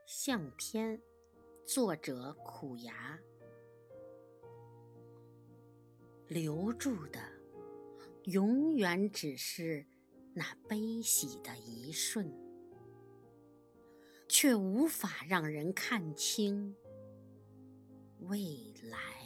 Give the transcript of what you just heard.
相片，作者苦牙。留住的永远只是那悲喜的一瞬，却无法让人看清未来。